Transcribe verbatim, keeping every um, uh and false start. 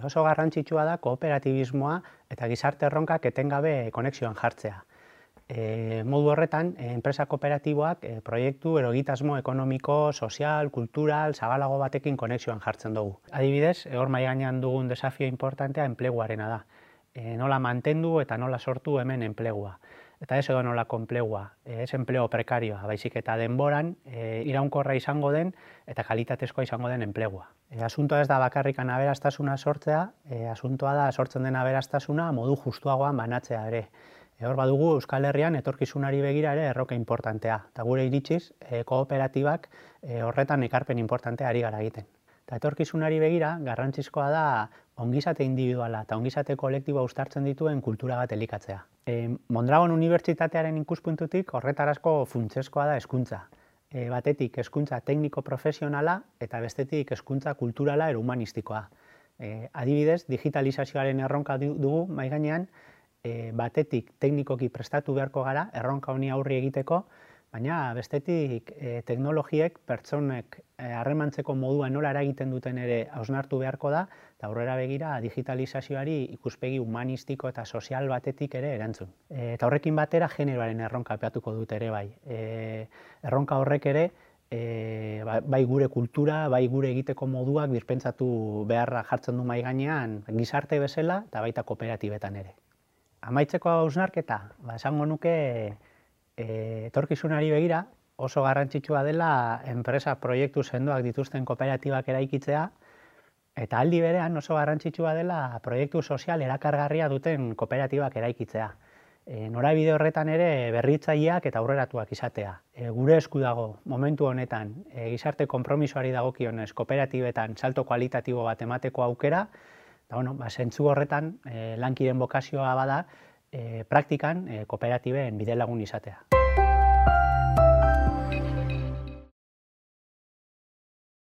Oso garrantzitsua da kooperatibismoa eta gizarte erronkak etengabe konexioan jartzea. E, modu horretan, enpresa kooperatiboak e, proiektu ero egitasmo ekonomiko, sozial, kultural, zabalago batekin konexioan jartzen dugu. Adibidez, hor mahai gainean dugun desafio importantea enpleguarena da. E, nola mantendu eta nola sortu hemen enplegua. Eta ez edo nolako enplegua, ez enpleo prekarioa, baizik eta denboran e, iraunkorra izango den eta kalitatezkoa izango den enplegua. E, asuntoa ez da bakarrikan aberastasuna sortzea, e, asuntoa da sortzen den aberastasuna modu justuagoan banatzea ere. E, hor badugu Euskal Herrian etorkizunari begira ere erroka importantea, eta gure iritsiz e, kooperatibak e, horretan ekarpen importantea ari gara egiten. Eta etorkizunari begira, garrantzizkoa da ongizate individuala eta ongizate kolektiboa uztartzen dituen kultura bat elikatzea. E, Mondragon Unibertsitatearen ikuspuntutik horretarazko funtsezkoa da hezkuntza. E, batetik hezkuntza tekniko profesionala eta bestetik hezkuntza kulturala ero humanistikoa. E, adibidez, digitalizazioaren erronka dugu mahai gainean, e, batetik teknikoki prestatu beharko gara erronka honi aurri egiteko, baina bestetik e, teknologiek pertsonek harremantzeko e, modua nola eragiten duten ere hausnartu beharko da, eta aurrera begira digitalizazioari ikuspegi humanistiko eta sozial batetik ere erantzun. E, eta horrekin batera generoaren erronka aipatuko dut ere bai. E, erronka horrek ere e, bai gure kultura, bai gure egiteko moduak birpentsatu beharra jartzen du mahai gainean gizarte bezala eta baita kooperatibetan ere. Amaitzeko hausnarketa, ba, esango nuke E, etorkizunari begira oso garrantzitsua dela enpresa proiektu sendoak dituzten kooperatibak eraikitzea eta aldi berean oso garrantzitsua dela proiektu sozial erakargarria duten kooperatibak eraikitzea. E, norabide horretan ere berritzaileak eta aurreratuak izatea. E, gure esku dago momentu honetan e, gizarte konpromisoari dagokionez kooperatibetan salto kualitatibo bat emateko aukera, eta bueno, ba, zentzu horretan e, lankiren bokazioa bada, E, praktikan e, kooperatiben bidelagun izatea.